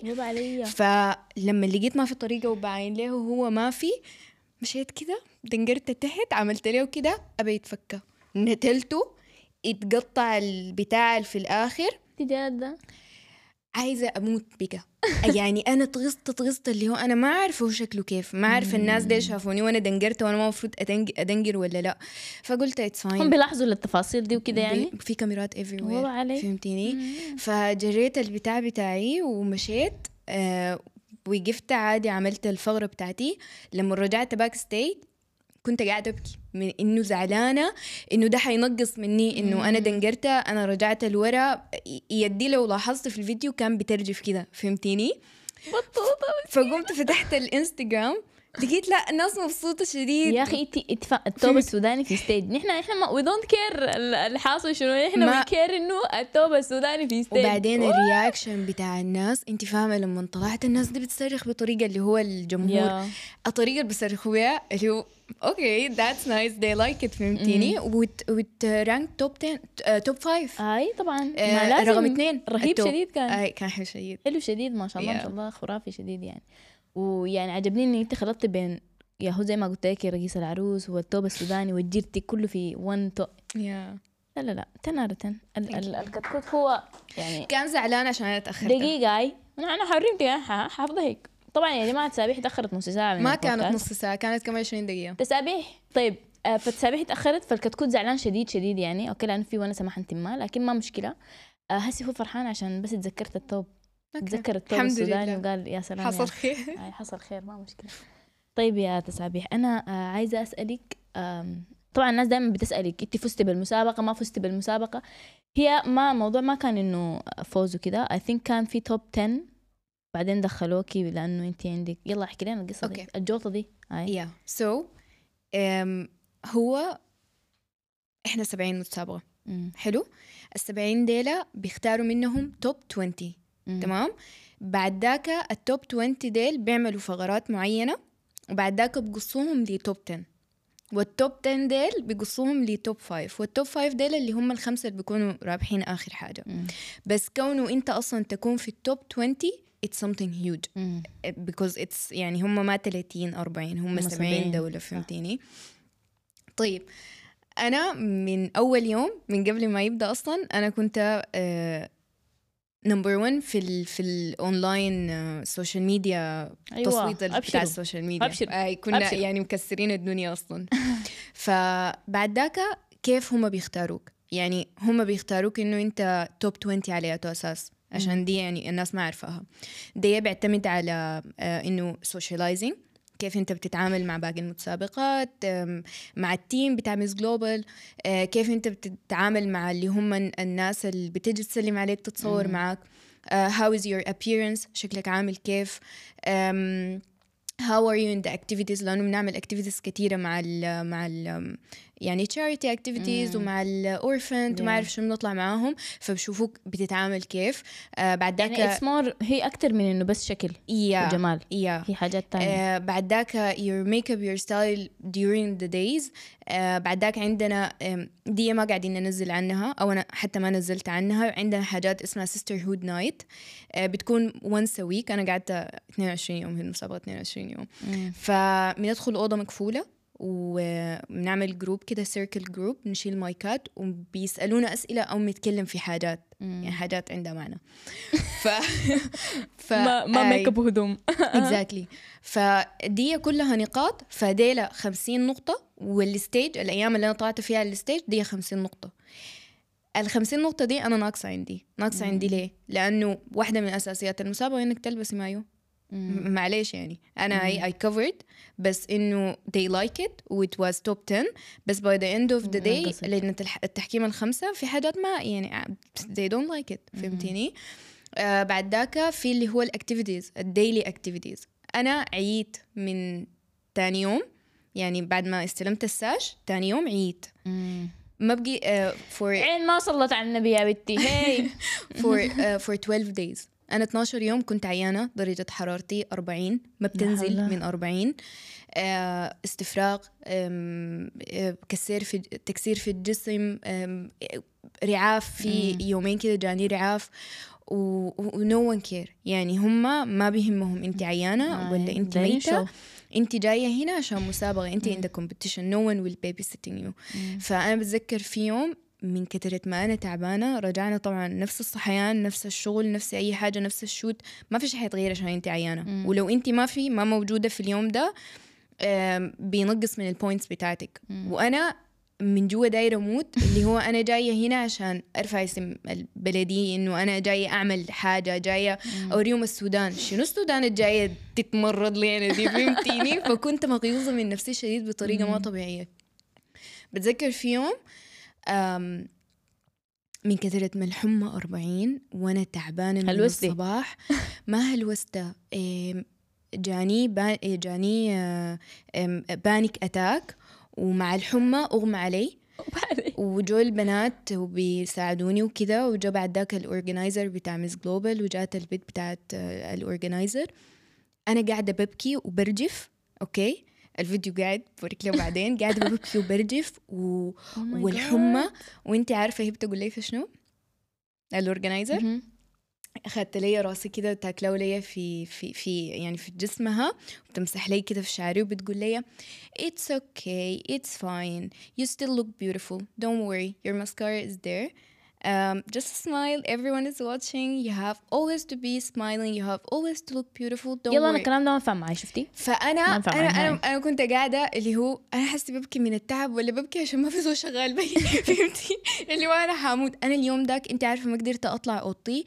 فلما لقيت ما في طريقة وبعاين له هو ما في مشيت كده دنقرت تحت عملت له كده أبي يتفكه نتلته اتقطع البتاع في الآخر. تجاد عايزة أموت بقى. يعني أنا تغصت تغصت اللي هو أنا ما أعرف هو شكله كيف ما أعرف الناس دي شافوني وأنا دنقرت وأنا ما مفروض أدنقر ولا لا. فقلت it's fine. هم بيلاحظوا التفاصيل دي وكده يعني في كاميرات everywhere فهمتيني. فجريت البتاع بتاعي ومشيت آه وقفت عادي عملت الفقرة بتاعتي. لما رجعت باك ستيج كنت قاعدة أبكي من إنه زعلانة إنه ده حينقص مني إنه أنا دنقرته. أنا رجعت لورا يدي لو لاحظت في الفيديو كان بترجف كده فهمتيني. فقمت فتحت الانستغرام لقيت لا الناس مبسوطة شديد. يا أخي إنتي اتفق التوب السوداني في ستيج نحن إحنا ما we don't care الحاصل شنو إحنا we care إنه التوب السوداني في ستيج. وبعدين الرياكشن بتاع الناس أنت فاهمة لما طلعت الناس دي بتصرخ بطريقة اللي هو الجمهور yeah. الطريقة اللي بيصرخوا بيها اللي هو اوكي that's nice they like it فهمتيني. وت وت رانك توب عشرة توب خمسة اي طبعا آه رقم اثنين رهيب شديد كان. اي كان حلو شديد حلو شديد ما شاء الله yeah. ما شاء الله خرافي شديد يعني. ويعني عجبني ان انت خلطت بين يا هو زي ما قلت لك رئيس العروس والتوب السوداني والجيرتي كله في وان تو yeah. لا لا لا تنارة الكتكوت هو يعني كان زعلان عشان انا تاخرت دقيقه. اي انا انا حرمتي حافظه هيك طبعا يا جماعه تسابيح تاخرت نص ساعه من ما كانت نص ساعه كانت كمان عشرين دقيقه تسابيح. طيب آه فتسابيح تاخرت فالكتكوت زعلان شديد شديد يعني اوكي لانه في وانا سمحت ما لكن ما مشكله. آه هسي هو فرحان عشان بس تذكرت التوب تذكر التوب السوداني وقال يا سلام حصل خير. يعني حصل خير ما مشكلة. طيب يا تسابيح أنا عايزة أسألك، طبعا الناس دائما بتسألك أنت فزتي بالمسابقة ما فزتي بالمسابقة، هي ما موضوع ما كان إنه فوز وكده. I think كان في توب عشرة بعدين دخلوكي لأنه أنت عندك. يلا احكي لنا القصة دي okay. الجوطة دي. yeah. so um, هو إحنا سبعين متسابقة. مم. حلو. السبعين ديلة بيختاروا منهم توب عشرين. مم. تمام. بعد ذاك التوب عشرين ديل بيعملوا فقرات معينة وبعد ذاك بقصوهم لتوب عشرة، والتوب عشرة ديل بيقصوهم لتوب خمسة، والتوب خمسة ديل اللي هم الخمسة اللي بيكونوا رابحين آخر حاجة. مم. بس كونه أنت أصلا تكون في التوب عشرين it's something huge مم. because it's يعني هم ما ثلاثين أربعين هم سبعين دولة فهمتيني. طيب أنا من أول يوم من قبل ما يبدأ أصلا أنا كنت نمبر ون في ال في الأونلاين السوشيال ميديا. أيوة. تصويت بتاع السوشيال ميديا آه كنا أبشر. يعني مكسرين الدنيا أصلا. فبعد ذاك كيف هم بيختاروك؟ يعني هم بيختاروك إنه أنت توب عشرين على أي أساس؟ عشان دي يعني الناس ما عارفاها. دي بيعتمد على آه إنه socializing، كيف أنت بتتعامل مع باقي المتسابقات، مع التيم بتاع ميس جلوبال، كيف أنت بتتعامل مع اللي هم الناس اللي بتيجي تسلم عليك تتصور مم. معك. uh, how is your appearance، شكلك عامل كيف. um, how are you in the activities، لأنه بنعمل activities كتيرة مع ال مع ال يعني charity activities مم. ومع الأورفنت yeah. وما أعرف شو بنطلع معاهم، فبشوفوك بتتعامل كيف. uh, بعد ذاك يعني it's more هي أكتر من إنه بس شكل yeah. وجمال yeah. هي حاجات تانية. uh, بعد ذاك your makeup your style during the days. uh, بعد ذاك عندنا um, دي ما قاعدين ننزل عنها أو أنا حتى ما نزلت عنها. عندنا حاجات اسمها sisterhood night uh, بتكون once a week. أنا قعدت اثنين وعشرين يوم في المسابقة اثنين وعشرين يوم. مم. فبندخل أوضة مقفولة وبنعمل جروب كده سيركل جروب، نشيل مايكات وبيسألونا أسئلة أو نتكلم في حاجات مم. يعني حاجات عندها معنى. ف... ف... ما ما ميك اب وهدوم. exactly. فدي كلها نقاط. فديلا خمسين نقطة، والستيج الأيام اللي أنا طلعت فيها الستيج دي خمسين نقطة. الخمسين نقطة دي أنا ناقصة عندي ناقصة مم. عندي ليه؟ لأنه واحدة من أساسيات المسابقة إنك تلبسي مايو. مم. معليش يعني أنا مم. I, I covered بس إنه they like it و it was top ten، بس by the end of the day نقصت. لأن التح- التحكيم الخمسة في حاجات ما يعني they don't like it فهمتيني. آه بعد ذاك في اللي هو الأكتيفيتيز الديلي أكتيفيتيز. أنا عييت من تاني يوم، يعني بعد ما استلمت الساج تاني يوم عييت مم. ما بقي uh, for عين ما صلت على النبي يا بنتي. هي for uh, for twelve days. أنا اثناشر يوم كنت عيانة، درجة حرارتي أربعين ما بتنزل من أربعين. uh, استفراغ، um, uh, كسير في تكسير في الجسم، um, رعاف في مم. يومين كده جاني رعاف و no one care. يعني هم ما بيهمهم انت عيانة ولا انت دايرين ميتة، شو. انت جاية هنا عشان مسابقة، انت مم. in the competition no one will babysitting you. مم. فأنا بتذكر في يوم من كترة ما أنا تعبانة رجعنا طبعا نفس الصحيان نفس الشغل نفس أي حاجة نفس الشوت، ما في شيء حيتغير عشان انت عيانة. مم. ولو انت ما في ما موجودة في اليوم ده آم، بينقص من البوينتس بتاعتك. مم. وأنا من جوا دايرة موت اللي هو أنا جاية هنا عشان أرفع اسم البلدية، إنه أنا جاية أعمل حاجة، جاية أوريهم السودان شنو السودان الجاية تتمرد لي أنا دي فهمتيني. فكنت مغيوظة من نفسي شديد بطريقة ما طبيعية. بتذكر في يوم أم من كثرة من الحمى أربعين وأنا تعبانة من هلوستي. الصباح. ما هلوسته إيه، جاني با جاني آه، آم، بانيك أتاك، ومع الحمى أغمى علي وجو البنات وبيساعدوني وكذا. وجو بعد ذاك الأورجنايزر بتاع ميس جلوبال وجات البيت بتاعت آه، الأورجنايزر. أنا قاعدة ببكي وبرجف. أوكي الفيديو قاعد بوريك له بعدين. قاعدة ببكي وبرجف و... Oh my والحمى. God. وانتي عارفة هي بتقول لي في شنو الأورجنايزر؟ مهم. أخذت لي راسي كده تاكلوا لي في في في يعني في جسمها وبتمسح لي كده في شعري وبتقول لي it's okay it's fine you still look beautiful don't worry your mascara is there um, just smile everyone is watching you have always to be smiling you have always to look beautiful don't يلا أنا worry. الكلام ده ما فهم معي شفتي. فأنا ما أنا ينفع معي أنا, هاي. أنا كنت قاعدة اللي هو أنا حاسة ببكي من التعب ولا ببكي عشان ما في زول شغال بي فهمتي اللي هو أنا حاموت. أنا اليوم داك أنت عارفة ما قدرت أطلع أوضتي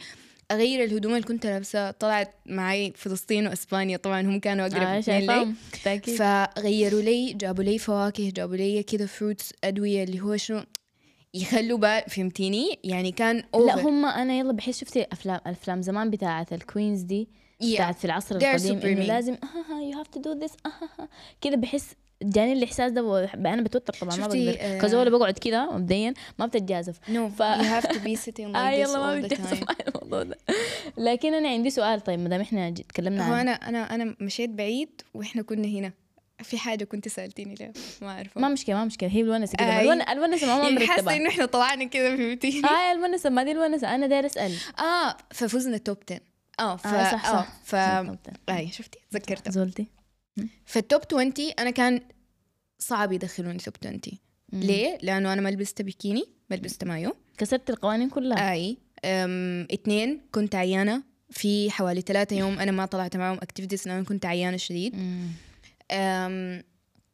اغير الهدوم اللي كنت لابسه. طلعت معي فلسطين واسبانيا، طبعا هم كانوا اقرب آه اثنين لي، شايفاهم بالتأكيد. فغيروا لي، جابوا لي فواكه، جابوا لي كده فروتس، ادويه اللي هو شنو يخلوا بال، فهمتيني يعني كان لا اوفر. هم انا يلا بحس شفتي افلام افلام زمان بتاعه الكوينز دي بتاعت في العصر They're القديم super انه mean. لازم يو هاف تو دو ذس كده، بحس جاني الاحساس ده و- انا بتوتر طبعا ما شفتي، بقدر آه، كزول بقعد كده مبدئيا ما بتتجازف. no ف... you have to be sitting آه like this يلا ما all the بتجازف time. على الموضوع ده. لكن انا عندي سؤال، طيب ما دام احنا ج- تكلمنا هو عن انا انا انا مشيت بعيد واحنا كنا هنا، في حاجه كنت سالتيني ليه ما عارفه. ما مشكله ما مشكله هي الونسه كده، ما أي. الون- الونسه ما يعني حاسه مرتبه. انه احنا طلعنا كده، فهمتيني. اه الونسه ما دي الونسه، انا داير اسال. اه ففزنا توب عشرة. اه ف اه صح اه صح ف زولتي. اي شفتي تذكرتها. زولتي. فالتوب عشرين انا كان صعب يدخلوني توب عشرين. ليه؟ لانه انا ما لبست بيكيني، ما لبست مايو، كسرت القوانين كلها. اي أم... اتنين كنت عيانه في حوالي ثلاثة يوم، انا ما طلعت معهم اكتيفيتيز لانه كنت عيانه شديد. أم...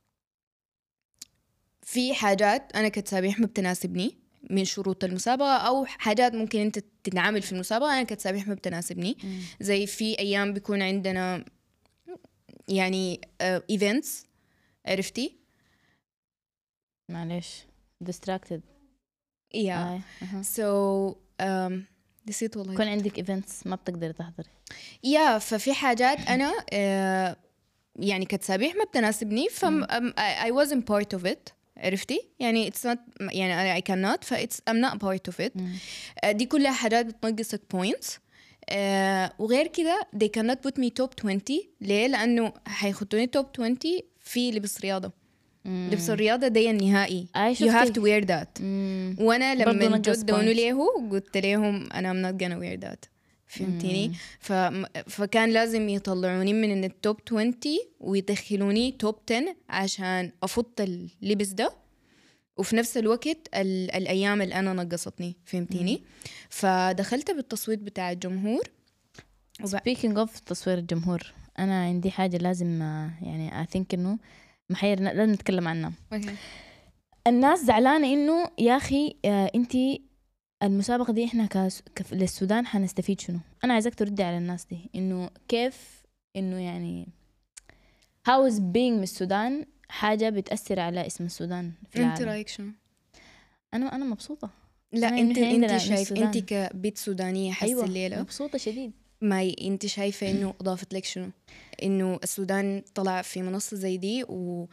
في حاجات انا كتسابيح ما بتناسبني من شروط المسابقة، أو حاجات ممكن أنت تتعامل في المسابقة أنا كتسابيح ما بتناسبني. مم. زي في أيام بيكون عندنا يعني ايفنتس، عرفتي؟ معلش distracted. yeah آه. أها. so um, نسيت والله. يكون عندك ايفنتس ما بتقدري تحضري. يا ففي حاجات أنا uh, يعني كتسابيح ما بتناسبني، ف um, I, I wasn't part of it، عرفتي؟ يعني it's not يعني I cannot ف it's I'm not part of it. uh, دي كلها حاجات بتنقصك points. uh, وغير كده they cannot put me top twenty. ليه؟ لأنه حيخطوني top twenty في لبس رياضة. مم. لبس الرياضة دي النهائي آه، you have شفتي. to wear that. مم. وانا برضو لما نقص جد دونوا points. ليه قلت لهم انا I'm not gonna wear that، فهمتيني؟ ف... فكان لازم يطلعوني من التوب عشرين ويدخلوني توب عشرة عشان افض اللبس ده، وفي نفس الوقت ال... الايام اللي انا نقصتني، فهمتيني؟ فدخلت بالتصويت بتاع الجمهور. وب... speaking of تصوير الجمهور، انا عندي حاجه لازم يعني I think انه محير لازم نتكلم عنها. okay. الناس زعلانه انه يا اخي آه انتي المسابقه دي احنا كاس... كف... للسودان حنستفيد شنو. انا عايزك تردي على الناس دي انه كيف انه يعني how is being من السودان حاجه بتاثر على اسم السودان في العالم. انت رايك شنو؟ انا انا مبسوطه. لا أنا انت عندنا انت من شايف السودان. انت كبيت سودانيه حس أيوة الليله مبسوطه شديد. ما ي... انت شايفه انه اضافت لك شنو؟ انه السودان طلع في منصه زي دي و...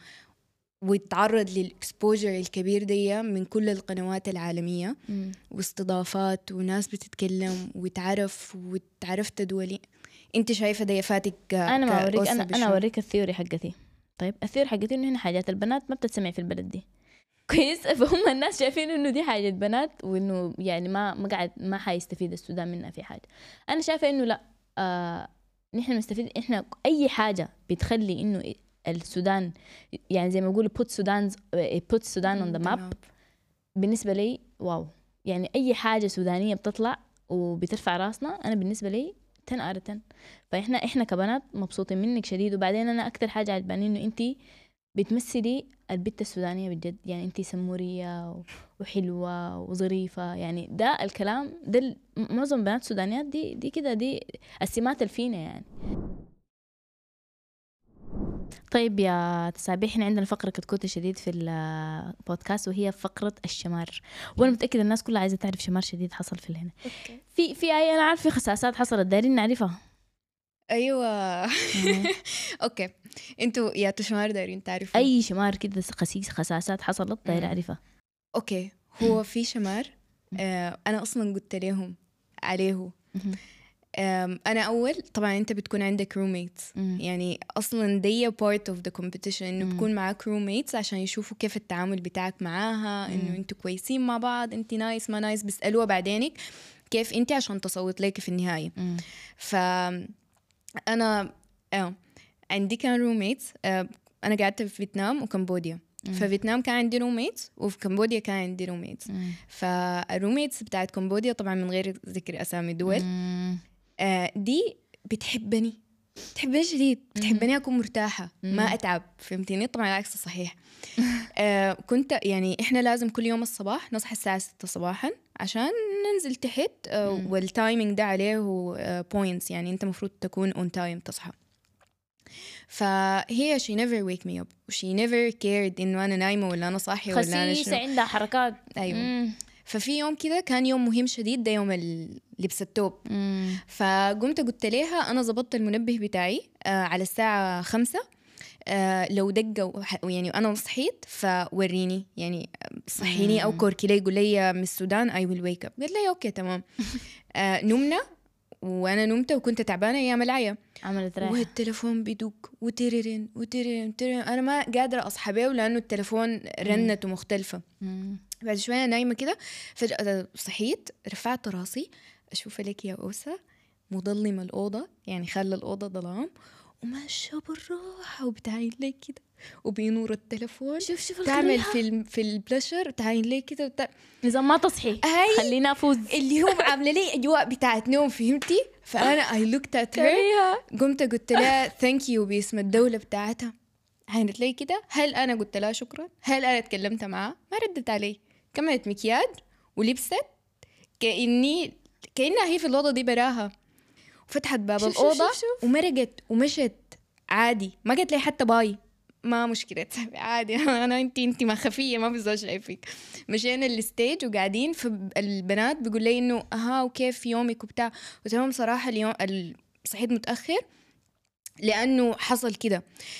ويتعرض للاكسبوجر الكبير دي من كل القنوات العالميه مم. واستضافات وناس بتتكلم وتعرف وتعرفت دولي. انت شايفه ده فاتك؟ انا ما اوريك، انا انا اوريك الثيوري حقتي. طيب الثيوري حقتي انه هنا حاجات البنات ما بتتسمع في البلد دي كويس، فهم الناس شايفين انه دي حاجه بنات وانه يعني ما ما قاعد ما حيستفيد السودان منها في حاجه. انا شايفه انه لا، آه نحن نستفيد. احنا اي حاجه بتخلي انه السودان يعني زي ما يقولوا put Sudan's put Sudan on the map بالنسبه لي واو. يعني اي حاجه سودانيه بتطلع وبترفع راسنا انا بالنسبه لي عشرة على عشرة. فاحنا احنا كبنات مبسوطين منك شديد. وبعدين انا اكثر حاجه عجباني انه انتي بتمثلي البنت السودانيه بجد. يعني انتي سموريه وحلوه وظريفه، يعني ده الكلام ده معظم بنات السودانيات دي دي كده دي السمات الفينه يعني. طيب يا تسابيح، احنا عندنا فقرة كتكوتة شديد في البودكاست وهي فقرة الشمار، وانا متأكدة الناس كلها عايزة تعرف شمار شديد حصل في الهنا. في في اي انا عارف في خساسات حصلت دايرين نعرفها. ايوه اوكي انتوا يا تشمار دايرين تعرفوا اي شمار كده خسيس خساسات حصلت داير اعرفها. اوكي هو في شمار آه انا اصلا قلت لهم عليه. انا اول طبعا انت بتكون عندك روميتس، يعني اصلا دي بارت اوف ذا كومبيتيشن انه بتكون معاك روميتس عشان يشوفوا كيف التعامل بتاعك معاها، انه انتوا كويسين مع بعض، انت نايس ما نايس، بيسالوها بعدينك كيف انت عشان تصوت لك في النهايه. ف انا اه عندي كان روميتس. آه انا قعدت في فيتنام وكمبوديا. ففيتنام كان عندي روميتس وفي كمبوديا كان عندي روميتس. فالروميتس بتاعت كمبوديا طبعا من غير ذكر اسامي دول آه دي بتحبني بتحبني شديد، بتحبني أكون مرتاحة مم. ما أتعب، فهمتيني؟ طبعا العكس صحيح. آه كنت يعني إحنا لازم كل يوم الصباح نصحى الساعة ستة صباحا عشان ننزل تحت، آه مم. والتايمينج ده عليه بوينتس، يعني أنت مفروض تكون on time تصحى. فهي she never wake me up she never cared إنه أنا نايمة ولا أنا صاحية ولا أنا خسيسة شنو. عندها حركات. أيوة. مم. ففي يوم كده كان يوم مهم شديد، ده يوم ال- لبس التوب. مم. فقمت قلت لها أنا زبطت المنبه بتاعي آه على الساعة خمسة، آه لو دقة وح- يعني أنا صحيت فوريني، يعني صحيني أو مم. كوركي لي، يقول لي من السودان I will wake up. قلت لي أوكي تمام. آه نمنا وأنا نمت وكنت تعبانة أيام العيا، عملت راحة. والتليفون بيدق وتررن وتررن وتررن، أنا ما قادرة أصحى بيه لأنه التليفون رنته مختلفة. مم. بعد شوية نايمة كده فجأة صحيت، رفعت راسي أشوف لك يا أوسة مظلمة الأوضة، يعني خلى الأوضة ظلام وماشية بالراحة وبتعين لي كده وبينور التليفون، شوف شوف تعمل الكريهة. في الم- في البلشر تعين لي كده وتع... نظام ما تصحي هاي خلينا أفوز. اللي هو عاملة لي أجواء بتاعت نوم، فهمتي؟ فأنا I looked at her، كريهة. قمت قلت لها thank you باسم الدولة بتاعتها. عينت لي كده، هل أنا قلت لها شكرا؟ هل أنا تكلمت معها؟ ما ردت علي، كملت مكياج ولبست كأني كأنها هي في الأوضة دي براها، وفتحت باب شوف شوف الأوضة شوف شوف. ومرقت ومشت عادي، ما قلت لي حتى باي، ما مشكلة عادي. أنا أنتي أنتي ما خفية ما في زول شايفك. مشينا الستيج وقاعدين، فالبنات بيقول لي إنه أها وكيف يومك وبتاع، وتمام صراحة اليوم ال- صحيت متأخر لأنه حصل كده.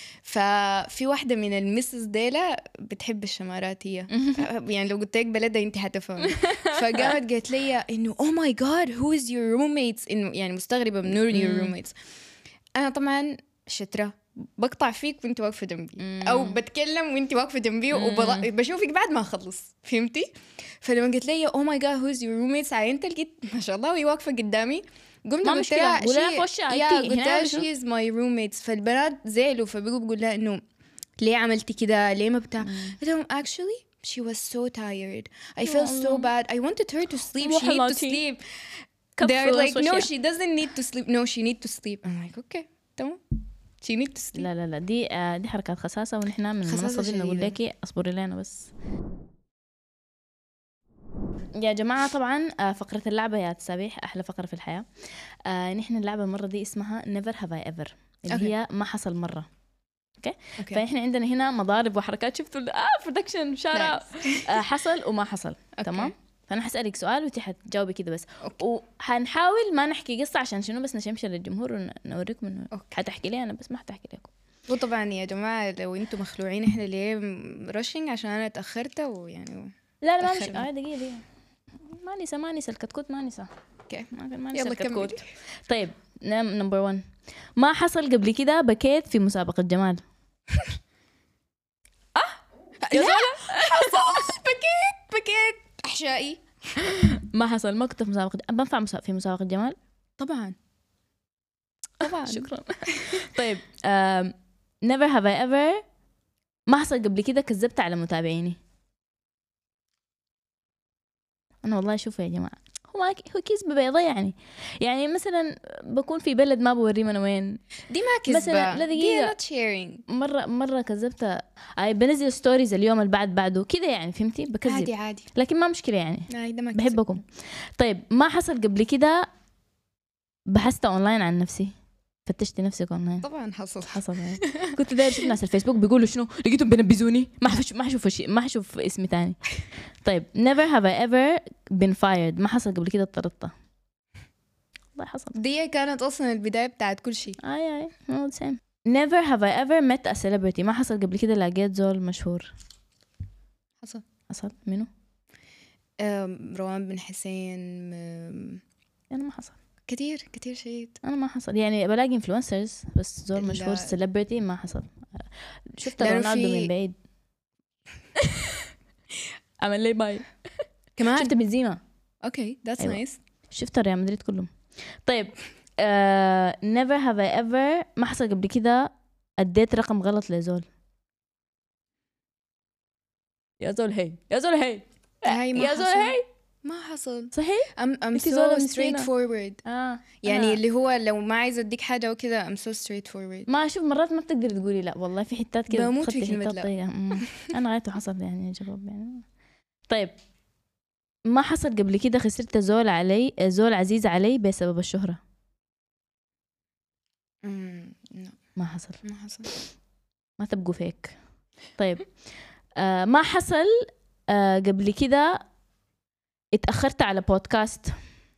ففي واحدة من المسز ديلا بتحب الشمارات هي، يعني لو قلت لك بلدها انت حتفهمي. فقامت قالت لي انه oh my god who is your roommates، انه يعني مستغربة من نور your roommates. انا طبعا شترة بقطع فيك وانت واقفة جنبي، او بتكلم وانت واقفة جنبي وبشوفك بعد ما اخلص، فهمتي؟ فلما قلت لي oh my god who is your roommates عينت لقيت ما شاء الله وهي واقفة قدامي، قمت ما قلت مشكلة، لها قولها في she- وشها يا انتي قلت هنا لها بشوف. she is my roommates. فالبنات زعلوا، فبقوا بقول لها انه ليه عملتي كده، ليه ما بتاع. قلت لهم actually she was so tired I felt so bad I wanted her to sleep she need to sleep. They're like no she doesn't need to sleep no she need to sleep. I'm like okay تمام she need to sleep. لا لا لا دي آه دي حركات خساسة، ونحن من خساسة المنصة دي نقول شديدة. لك اصبري لنا بس يا جماعة. طبعا آه فقرة اللعبة يا تسابيح أحلى فقرة في الحياة. آه نحن اللعبة المرة دي اسمها never have I ever، اللي Okay. هي ما حصل مرة. اوكي Okay. فاحنا عندنا هنا مضارب وحركات، شفتوا اه برودكشن شارع آه حصل وما حصل. تمام. فانا حسألك سؤال وانت حتجاوبي كده بس. Okay. وحنحاول ما نحكي قصة عشان شنو، بس نشمشي للجمهور ونوريكم انه Okay. حتحكي لي انا بس ما حتحكي لكم. وطبعا يا جماعة لو انتم مخلوعين احنا ليه رشنج عشان انا اتأخرت ويعني لا لا ما مش تأخرنا. اه دقيقة دقيقة ما نسى ما نسى الكتكوت ما نسى. اوكي ما ما نسى يلا الكتكوت. كملي. طيب نمبر واحد، ما حصل قبل كده بكيت في مسابقة جمال؟ لا حصل بكيت بكيت احشائي. ما حصل، ما كنت في مسابقة بنفع مسا... في مسابقة جمال طبعا طبعا شكرا. طيب um, never have I ever ما حصل قبل كده كذبت على متابعيني؟ أنا والله شوفوا يا جماعة هو هو كذبة بيضة، يعني يعني مثلا بكون في بلد ما بوريه أنا وين، دي ما كذبة مثلا لا دقيقة not sharing. مرة مرة كذبت أي بنزل ستوريز اليوم اللي بعد بعده كده، يعني فهمتي بكذب عادي عادي لكن ما مشكلة يعني عادي ده ما كذب. بحبكم. طيب ما حصل قبل كده بحثت أونلاين عن نفسي، فتشتي نفسك أونلاين؟ طبعا حصل حصل يعني. كنت داير اشوف ناس الفيسبوك بيقولوا شنو لقيتهم بينبذوني، ما حفش ما حشوف شيء ما حشوف اسمي تاني. طيب never have I ever been fired ما حصل قبل كده اضطردت؟ والله حصل. دي كانت اصلا البداية بتاعت كل شيء. اي اي all the same. never have I ever met a celebrity ما حصل قبل كده لقيت زول مشهور؟ حصل. حصل منو؟ أم، روان بن حسين. أم، انا ما حصل كتير كتير شيء. انا ما حصل، يعني بلاقي انفلونسرز بس زول لا. مشهور celebrity ما حصل. شفت لأنه رونالدو في- من بعيد عمل لي باي. كمان شفت بنزيما، اوكي ذاتس أيوة. نايس. شفت ريال مدريد كلهم. طيب uh, never have I ever ما حصل قبل كده اديت رقم غلط لزول؟ يا زول هي يا زول هي هاي ما يا زول حصل. هي ما حصل صحيح I'm, I'm انتي زولة so مسكينة. straightforward اه يعني أنا اللي هو لو ما عايزة أديك حاجة وكذا I'm so straightforward. ما اشوف مرات ما بتقدري تقولي لا والله في حتات كده بموت في تخطي كلمة حتات لا. طيقة. أمم. انا غايته حصل يعني يا شباب يعني. طيب ما حصل قبل كده خسرت زول علي زول عزيز علي بسبب الشهرة؟ امم لا ما حصل. ما حصل. ما تبقوا فيك. طيب آه ما حصل آه قبل كده اتأخرت على بودكاست؟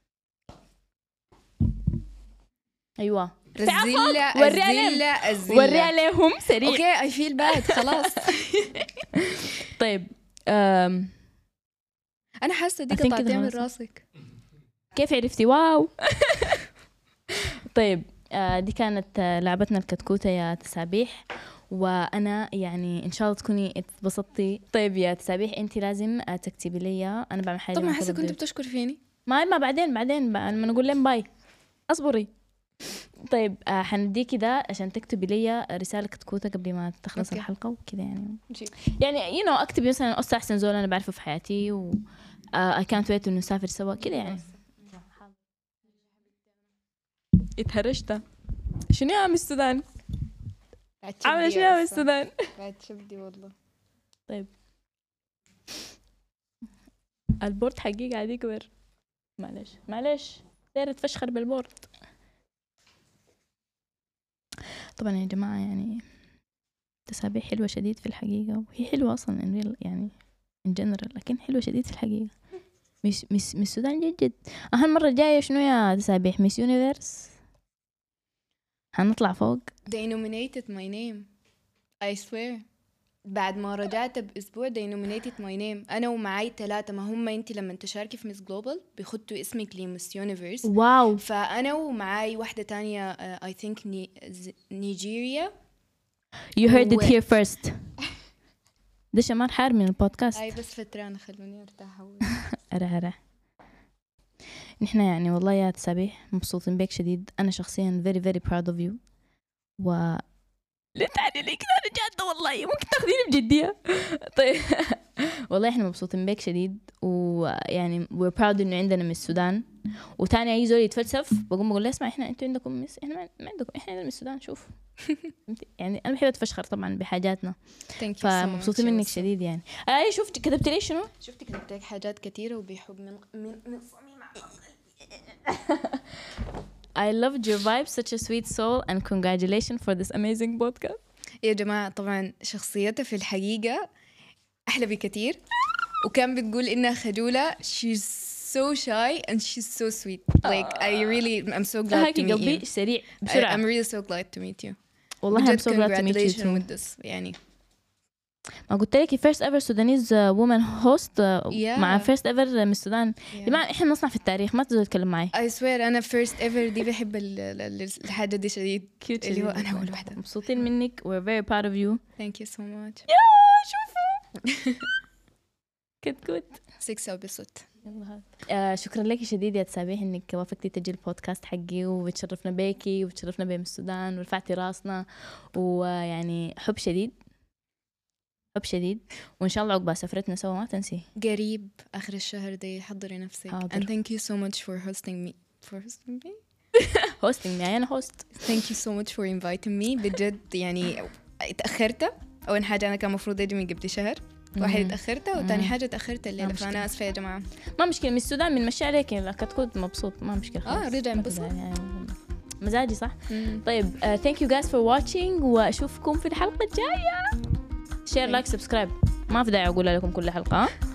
ايوه رزيلة وري عليهم. الزلة الزلة وري عليهم سريع. اوكي I feel bad خلاص. طيب آم. أنا حاسة دي I think كده قطعتين من خلاص. راسك. كيف عرفتي؟ واو. طيب آه دي كانت آه لعبتنا الكتكوتة يا تسابيح، وانا يعني ان شاء الله تكوني اتبسطتي. طيب يا تسابيح انت لازم آه تكتبي لي، انا بعمل حاجة. طب ما مع كل حاسة كنت الضيوف. بتشكر فيني. ما ما بعدين بعدين بقى لما نقول لهم باي اصبري. طيب آه حنديكي ده عشان تكتبي لي رسالة كتكوتة قبل ما تخلص أوكي. الحلقة وكذا يعني. جيب. يعني يو نو اكتبي مثلا أصلا احسن زول انا بعرفه في حياتي و اي كانت ويت انه نسافر سوا كذا يعني. اتهرجت. شنو يا عم السودان؟ عامله شنو يا عم السودان؟ بعد شبدي والله. طيب البورد حقي قاعد يكبر. معلش معلش داير اتفشخر بالبورد. طبعا يا جماعة يعني تسابيح حلوة شديد في الحقيقة، وهي حلوة أصلا يعني in general، لكن حلوة شديد في الحقيقة. مش مش مش السودان جد جد. أهم مرة الجاية شنو يا تسابيح؟ ميس يونيفرس هنطلع فوق. They nominated my name I swear. بعد ما رجعت بأسبوع they nominated my name أنا ومعاي ثلاثة. ما هم أنت لما تشاركي في ميس جلوبال بيخطوا اسمك لميس يونيفرس. واو. فأنا ومعاي واحدة تانية uh, I think ني... نيجيريا. You heard it و- here first. ده شمال حار من البودكاست. أي بس فترة خلوني أرتاح أول. أرى أرى نحن يعني والله يا تسابيح مبسوطين بيك شديد. أنا شخصيا very very proud of you. و لا تعني لي كده أنا جادة والله، ممكن تاخذيني بجدية. طيب والله إحنا مبسوطين بيك شديد، ويعني we're proud إنه عندنا من السودان. وتاني أي زول يتفلسف بقوم بقول له اسمع إحنا أنتوا عندكم مس، إحنا ما عندكم، إحنا عندنا من السودان. شوف يعني أنا بحب أتفشخر طبعا بحاجاتنا، فمبسوطين منك شديد يعني. أي شفت كتبت لي شنو؟ شفت كتبت لك حاجات كتيرة وبيحب من من من صميم I loved your vibe, such a sweet soul, and congratulations for this amazing podcast. يا جماعة طبعا شخصيتها في الحقيقة أحلى بكتير، وكان بتقول إنها خجولة. she's so shy and she's so sweet. like I really I'm so glad to هاكي meet قلبي you. سريع I, بسرعة. I'm really so glad to meet you. والله I'm so glad to meet you congratulations too. with this يعني. ما قلت لك first ever Sudanese uh, woman host uh, Yeah. مع first ever من السودان. Yeah. جماعة إحنا نصنع في التاريخ، ما تقدروا تتكلم معي. I swear أنا first ever دي بحب ال- ال- الحاجة دي شديد. Cute اللي هو شديد. أنا أول واحدة. مبسوطين منك. we're very proud of you. Thank you so much. يا شوفوا كتكوت six episode. آه شكرا لك شديد يا تسابيح انك وافقتي تجي البودكاست حقي، وتشرفنا بيكي وتشرفنا بين السودان ورفعتي راسنا، ويعني حب شديد حب شديد. وان شاء الله عقبال سفرتنا سوا ما تنسي قريب آخر الشهر دي حضري نفسك. حاضر. and thank you so much for hosting me for hosting me هوستنج يعني انا هوست. thank you so much for inviting me. بجد يعني اتأخرت. أول حاجة أنا كان مفروض أجي من قبل شهر، واحد اتأخرت، وتاني حاجة اتأخرت الليلة، فأنا آسفة يا جماعة. ما مشكلة، من السودان بنمشي عليك لا كتكوت مبسوط ما مشكلة خلاص. اه رجع انبسط يعني مزاجي صح. مم. طيب uh, thank you guys for watching، واشوفكم في الحلقة الجاية. شير لايك سبسكرايب، ما في داعي اقول لكم كل حلقة.